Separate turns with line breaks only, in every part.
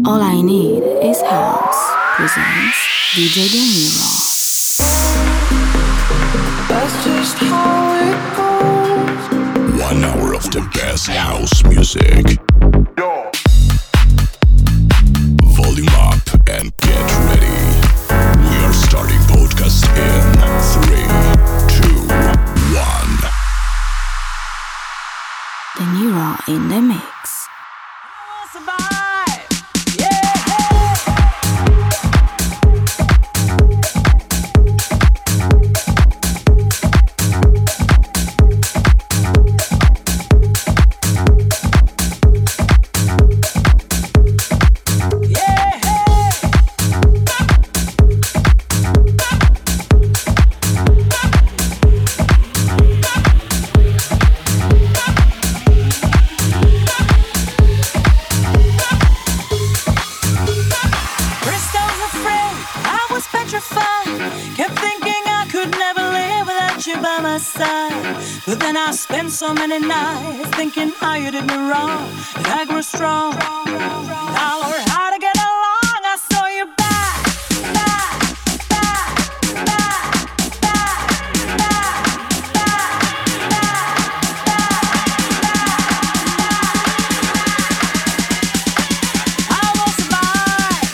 All I Need is House presents DJ De Niro.
That's just how it goes.
1 hour of the best house music.
Yo.
Volume up and get ready. We are starting podcast in 3, 2, 1.
De Niro in the mix.
But then I spent so many nights thinking how you did me wrong, and I grew strong. Now I learned how to get along. I saw you back. I will survive.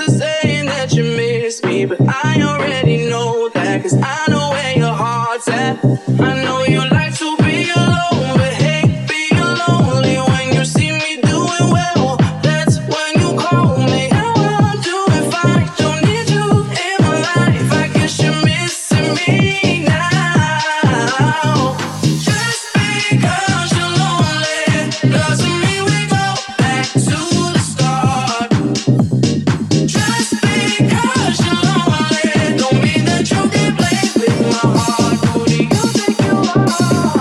to saying that you miss me, but I already know that, 'cause I know where your heart's at. I know you like to be alone, but hate being lonely. When you see me doing well, that's when you call me. Now I'm doing fine, don't need you in my life. I guess you're missing me now. Just because you're lonely doesn't mean we go back to the start. Just because you're lonely don't mean that you can play with my heart. Who do you think you are?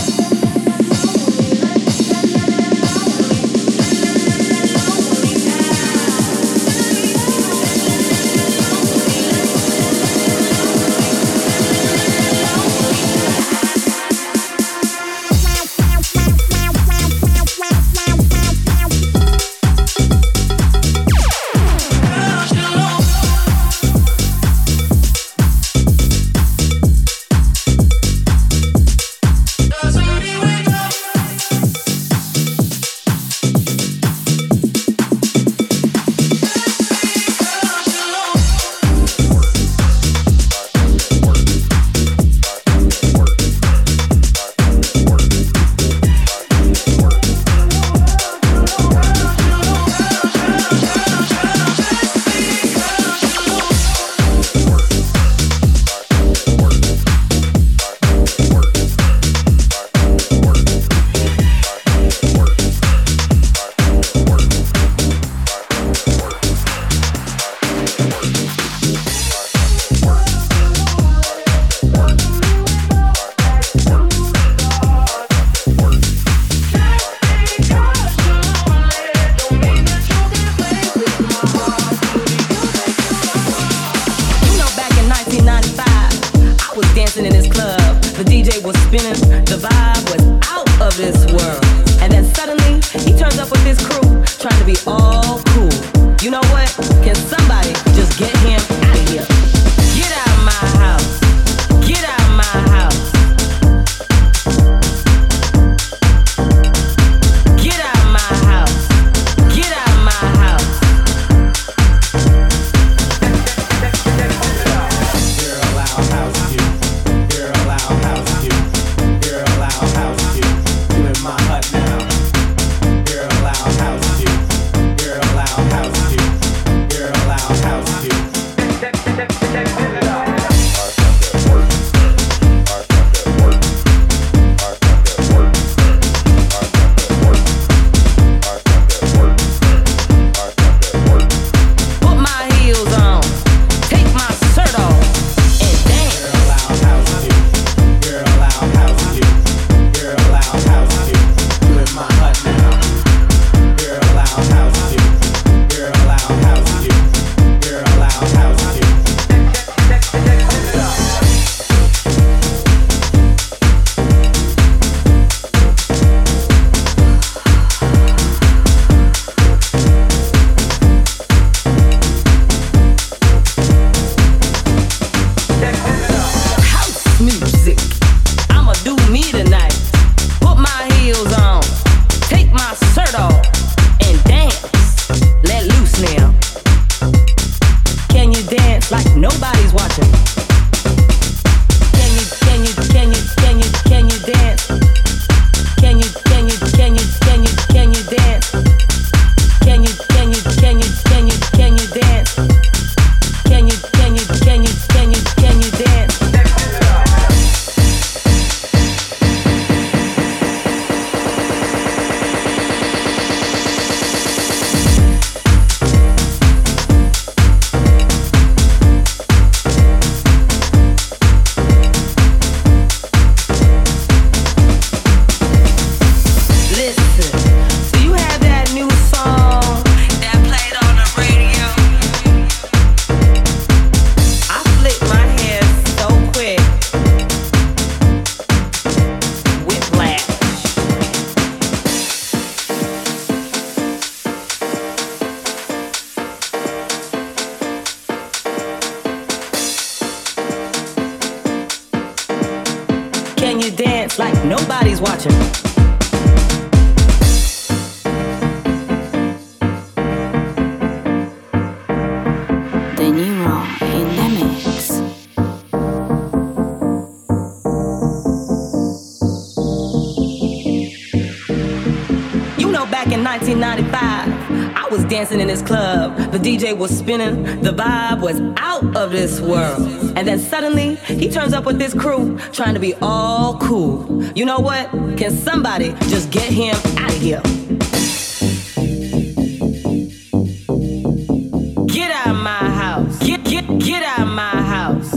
like nobody's watching. 1995. I was dancing in this club. The DJ was spinning. The vibe was out of this world. And then suddenly, he turns up with this crew, trying to be all cool. You know what? Can somebody just get him out of here? Get out of my house. Get out of my house.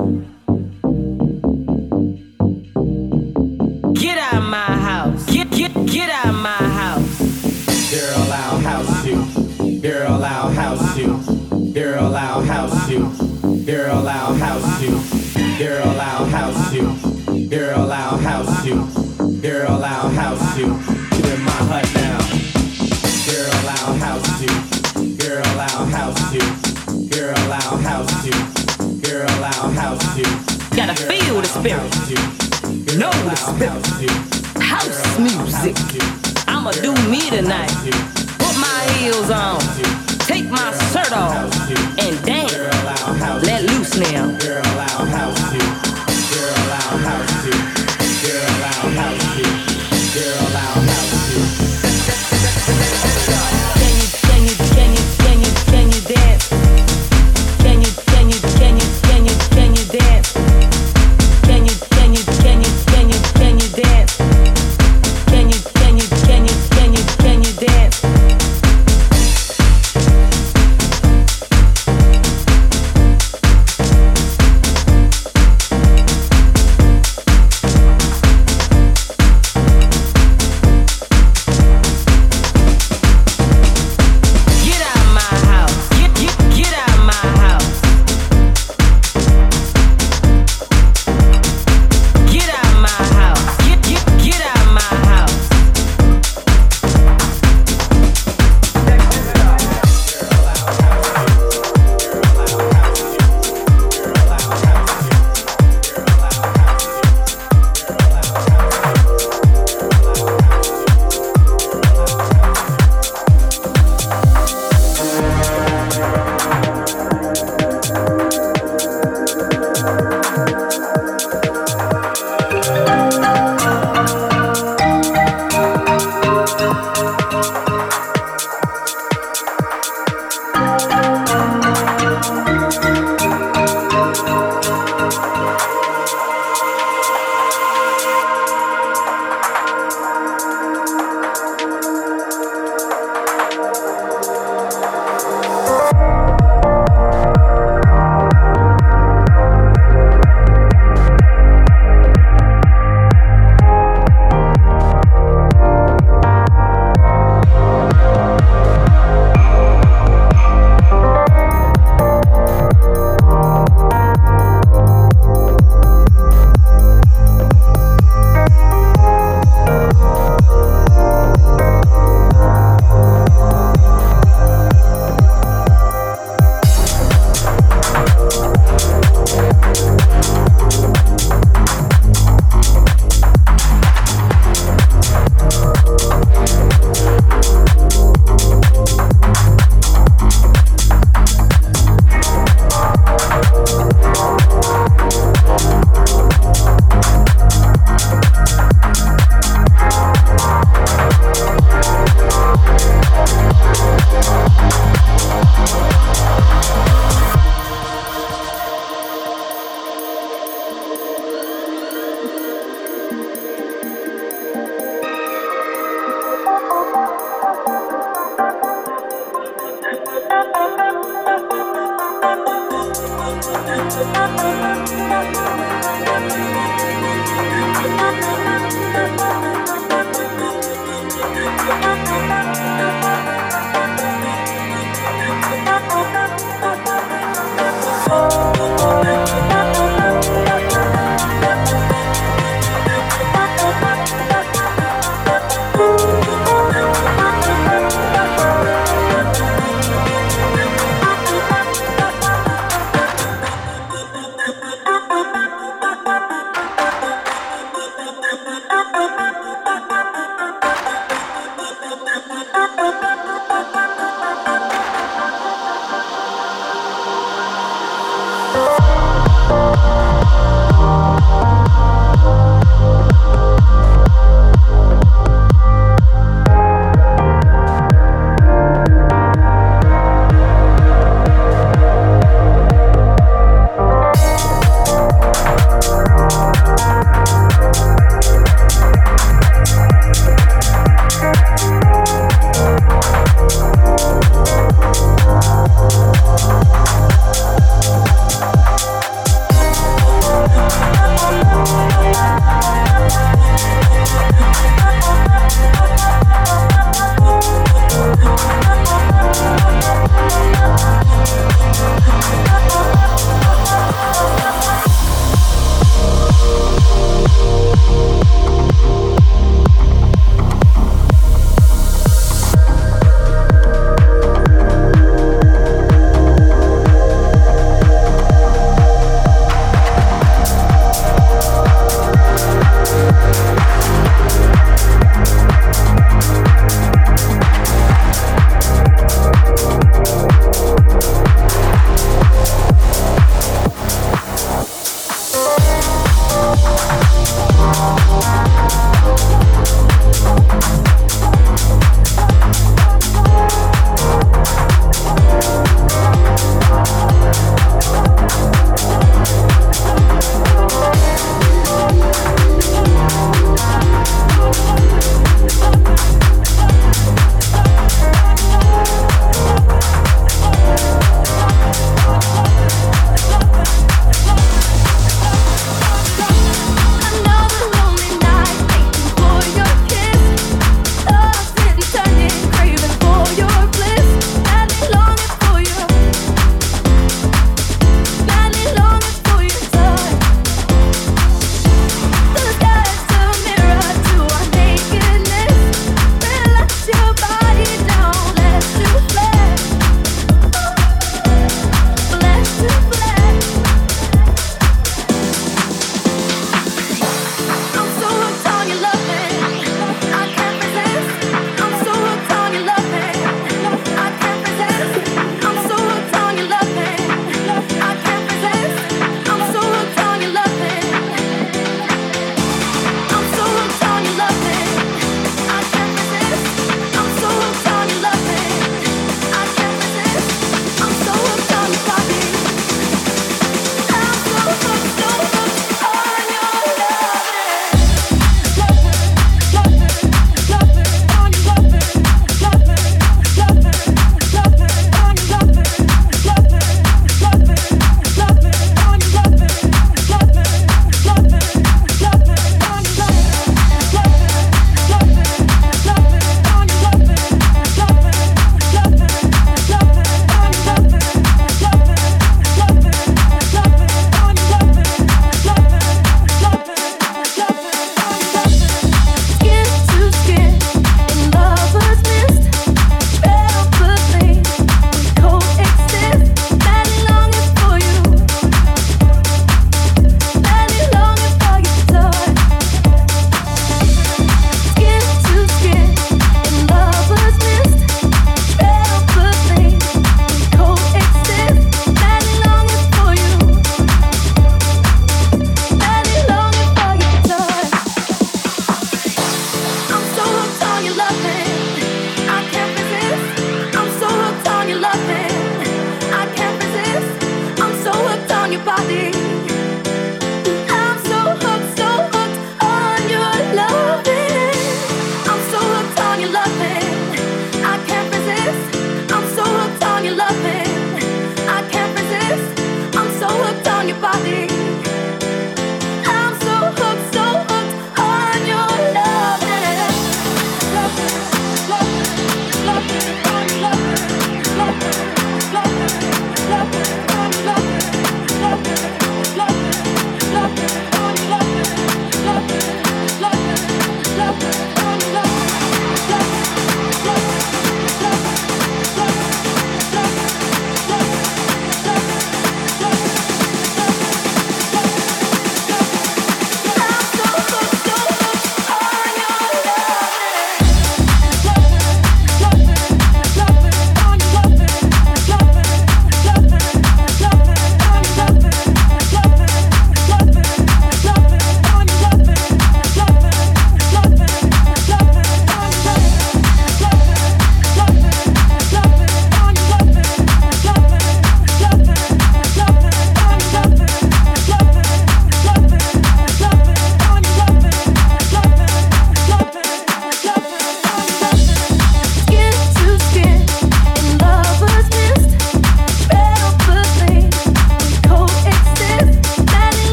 Get out of my house. Get out of my house.
Girl, I'll house you. Girl, I'll house you. Girl, I'll house you. Girl, I'll house you. Girl, I'll house you. Girl, I'll house you. Girl, I'll house you. Get in my hut now. Girl, I'll house you. Girl, I'll house you. Girl, I'll house you. Girl, I'll house you.
Gotta feel the spirit. Know the spirit. House music. I'ma do me tonight. Put my heels on. Take my shirt off. And dance. Let loose now.
Girl, I'll house you. Girl, I'll house you. Girl, I'll house you. Girl, I'll house you.
Can you dance? Can you dance? Can you dance? Can you dance? Can you dance?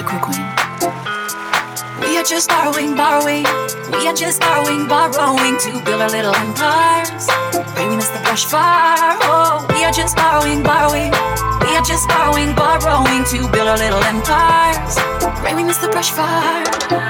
cool queen.
We are just borrowing. We are just borrowing to build our little empires. Pray we miss the brush fire. Oh, we are just borrowing. We are just borrowing to build our little empires. Pray we miss the brush fire.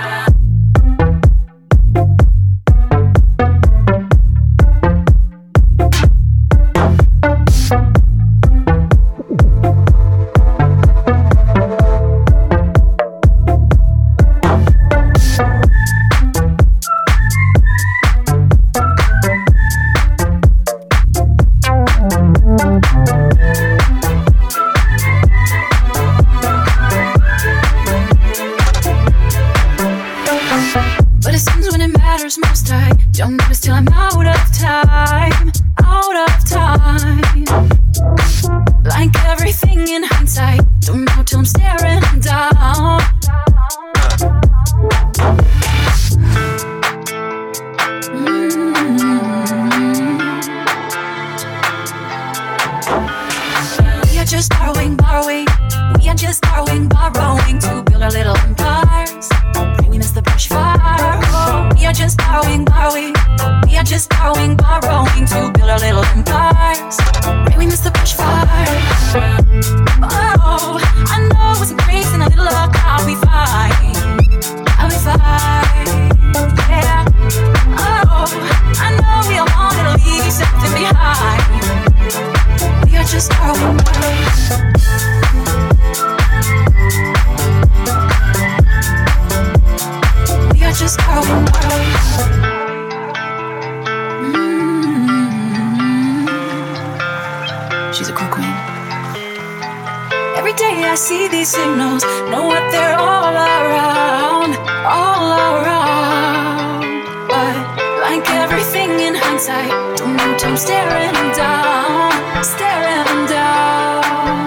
She's a cool queen.
Every day I see these signals, know what they're all around, all around. But like everything in hindsight, don't know till I'm staring down, staring down.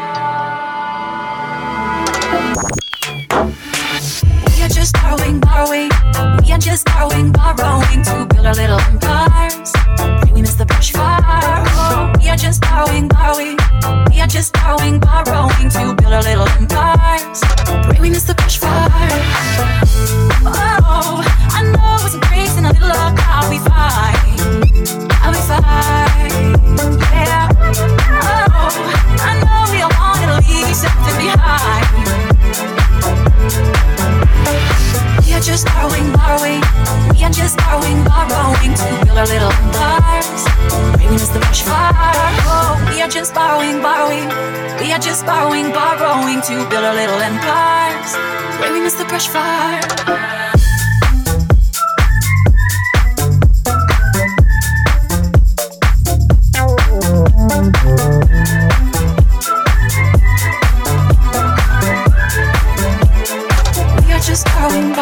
We are just borrowing. We are just borrowing to build our little empires. Pray we miss the brush fire. Oh, we are just borrowing. We are just borrowing to build our little empires. Pray we miss the brush fire. Oh, I know it's a grace and a little luck. I'll be fine. I'll be fine. Yeah. Oh, I know we all want to leave something behind. We are just borrowing. We are just borrowing to build our little empires. Pray we miss the brush fire. Oh, we are just borrowing. We are just borrowing to build our little empires. Pray we miss the brush fire. Just borrowing.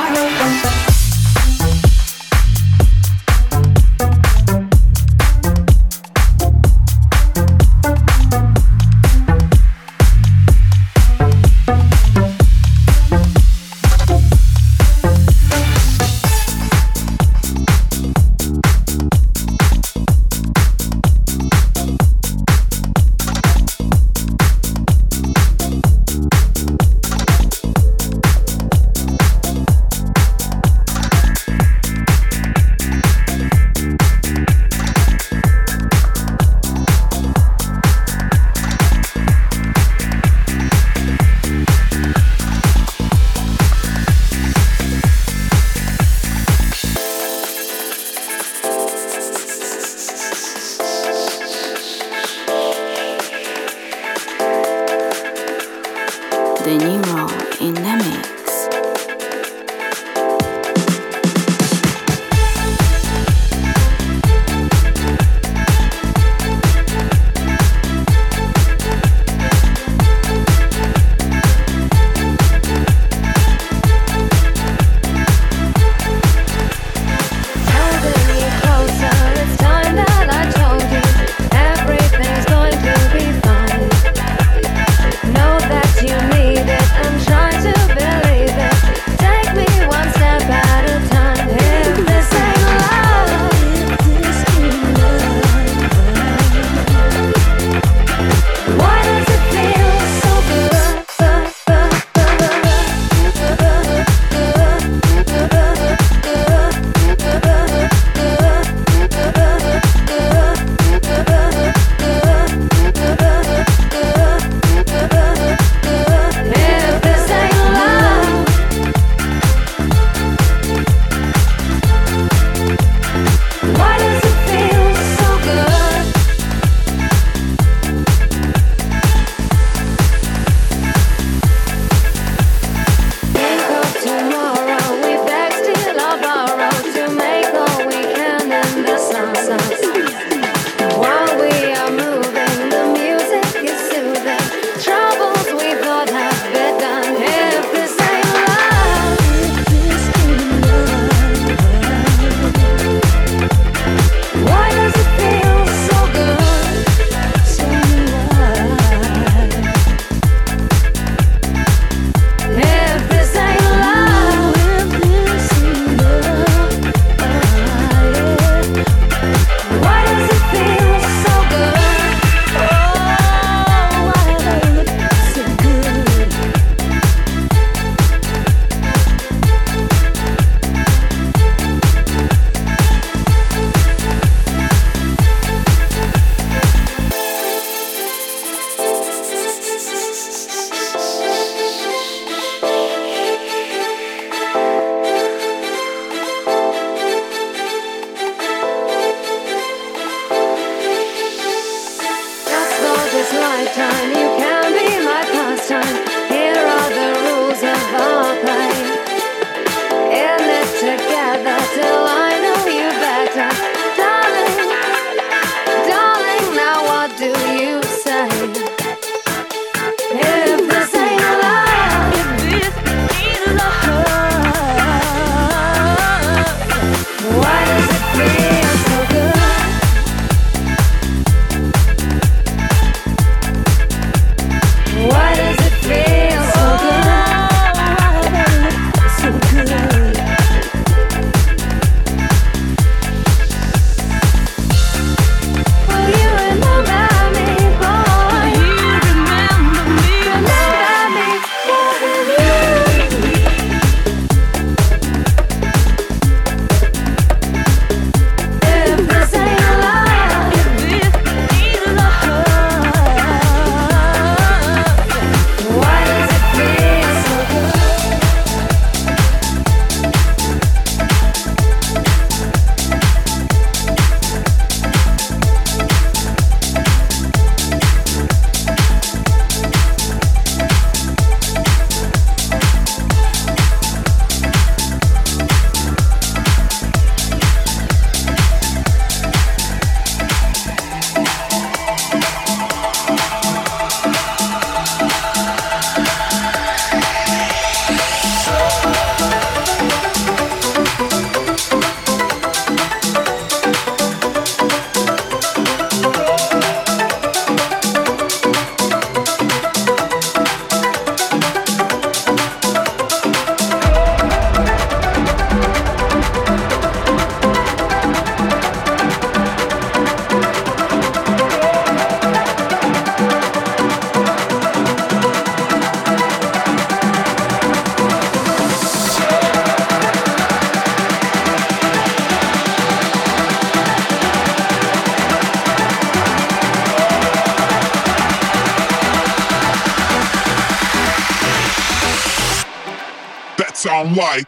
that sound like?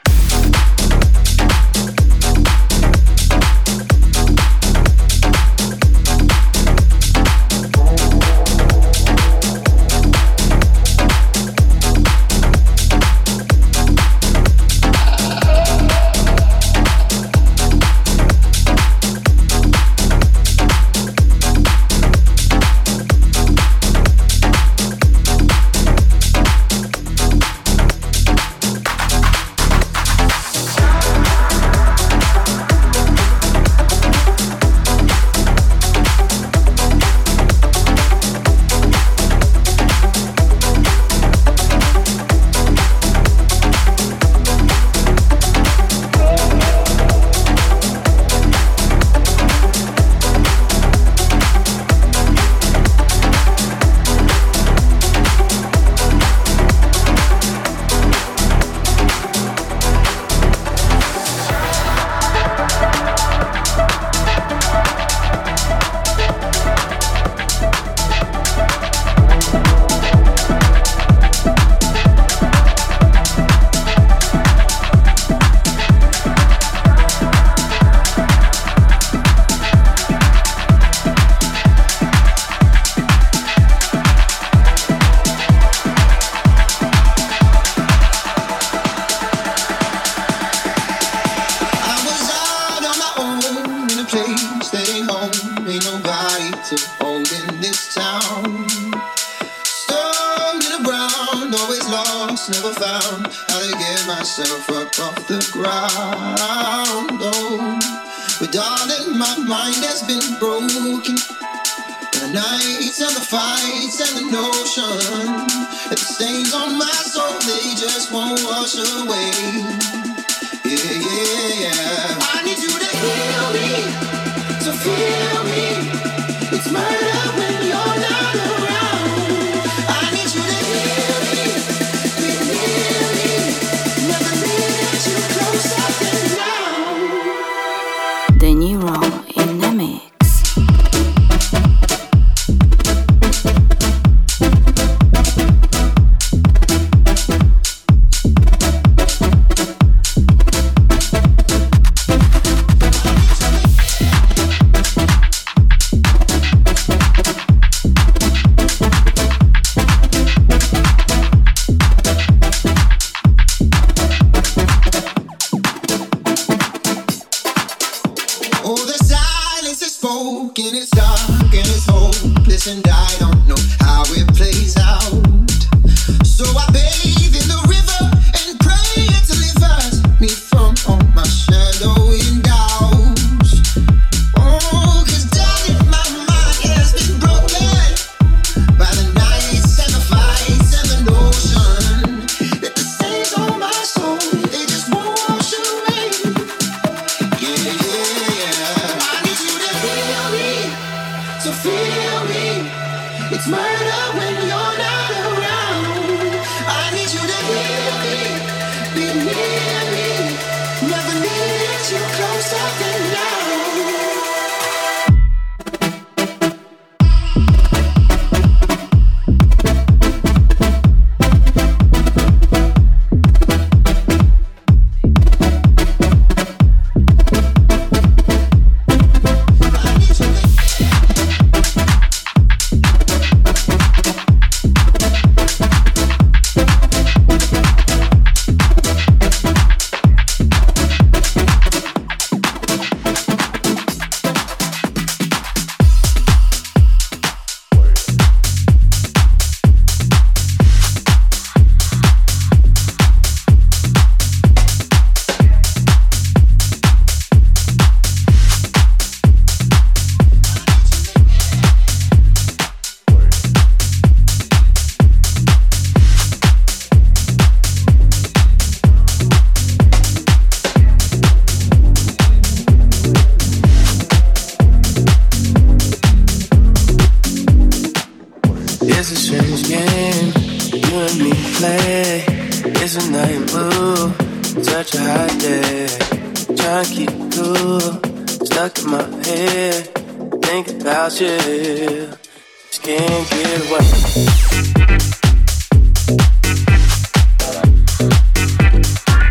Just can't get away.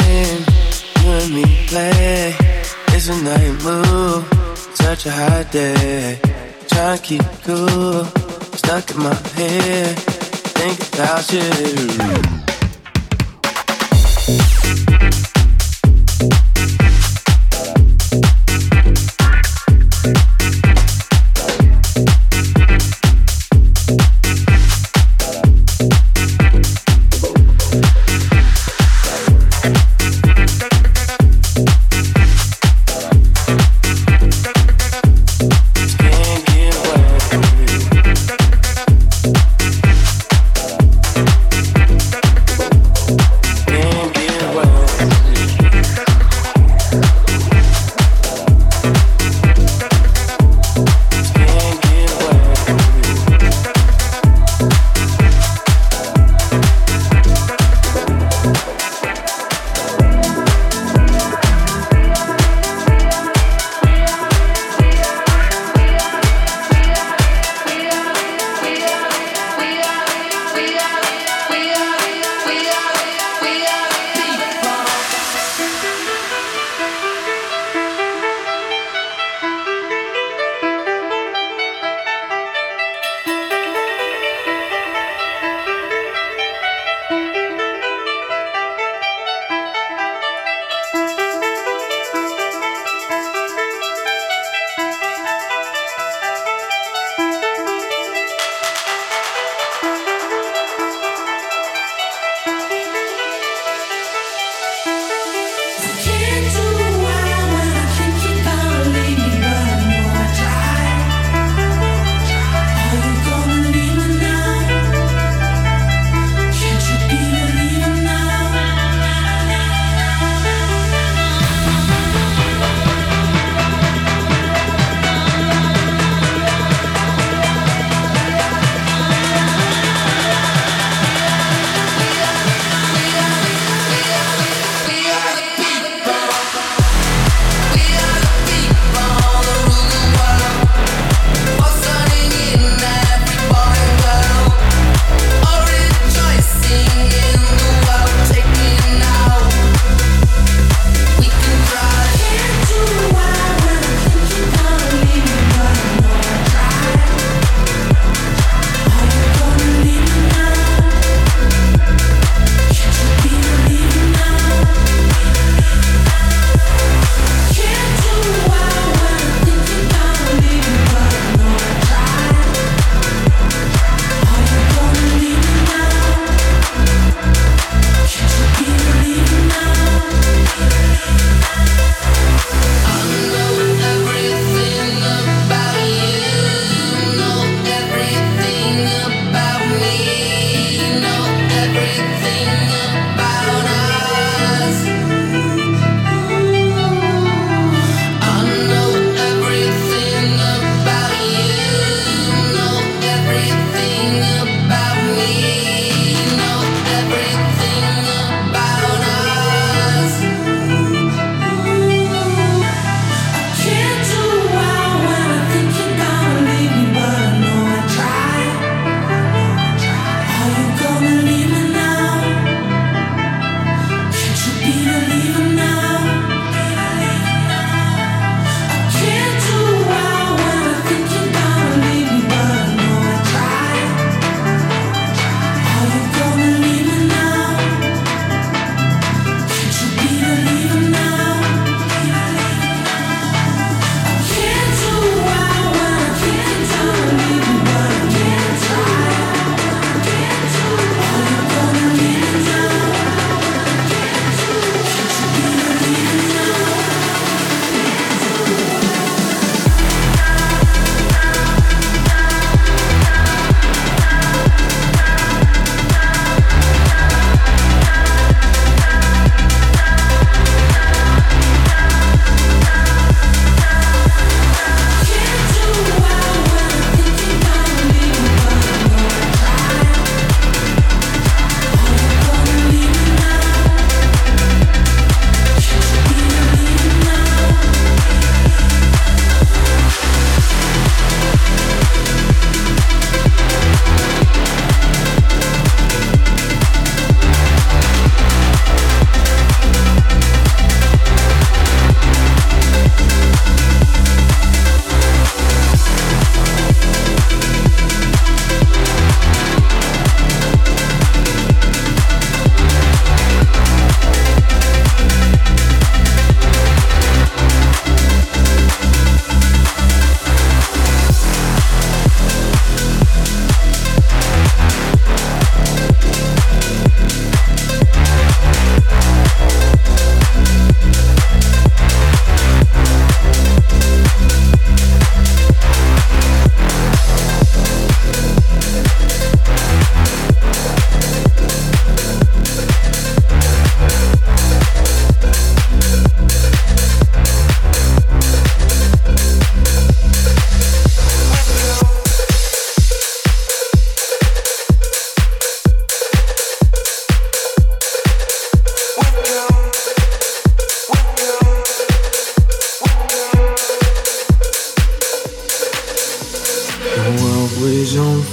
game you and me play. It's a night move, such a hot day. Trying to keep cool, stuck in my head, think about you.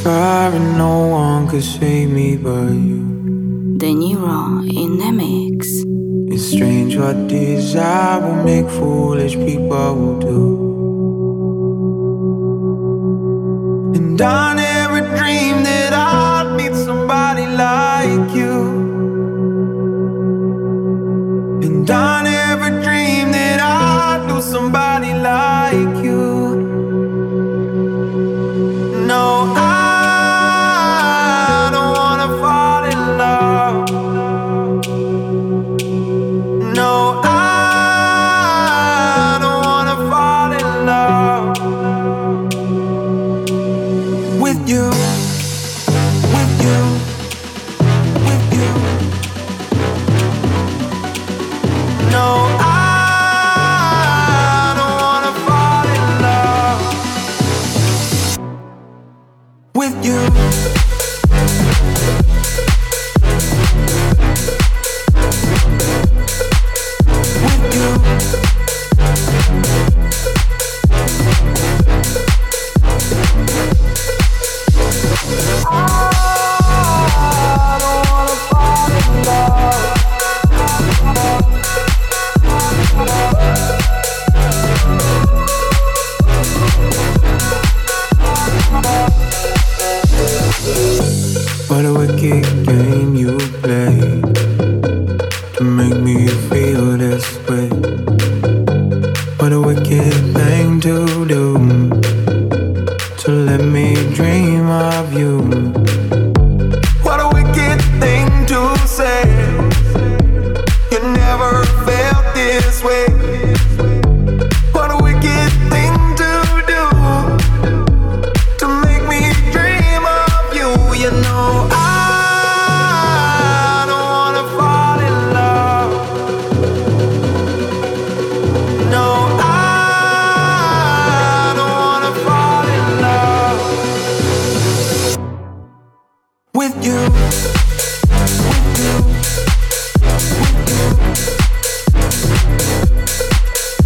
fire and no one could save me but you.
De Niro in the mix.
It's strange what desire will make foolish people do. And I never dreamed that I'd meet somebody like you. And I never dreamed that I'd do somebody like you. No, I don't wanna fall in love. No, I don't wanna fall in love with you, with you, with you. No, I don't wanna fall in love with you. What a wicked game you play to make me feel this way. What a wicked thing to do, to let me dream of you. What a wicked thing to say. You never felt this way. What a wicked thing to do, to make me dream of you. You know I don't wanna fall in love. No, I don't wanna fall in love with you. With you. With you.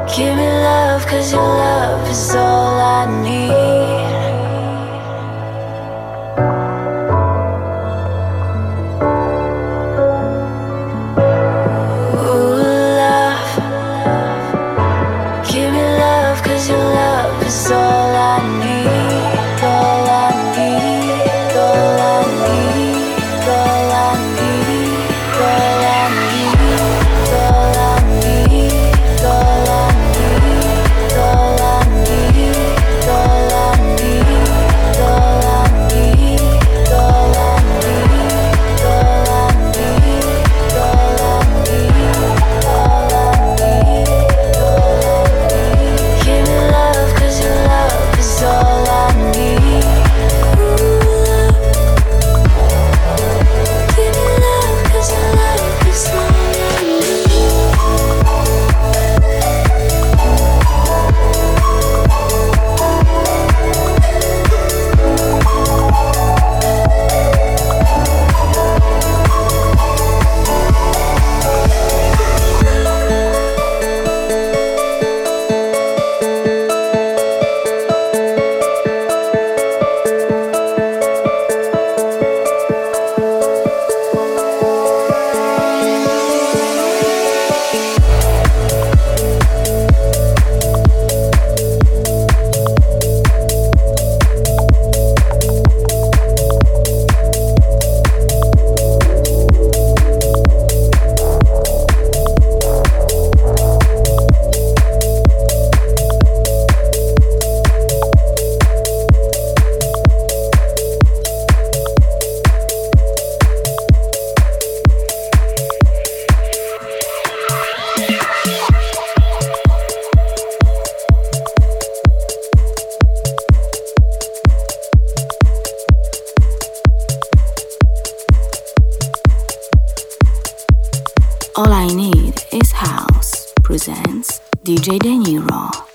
Give me love, 'cause your love is all I need. Ooh, love. Give me love, 'cause your love is all I need. All I need, all I need, all I need, all I need, all I need, all I need, all I need, all I need, all I need, all I need, all I need, all I need, all I need. Give me love, 'cause your love is all I need. Give me love, 'cause your love is all I need.
All I Need Is House presents DJ De Niro.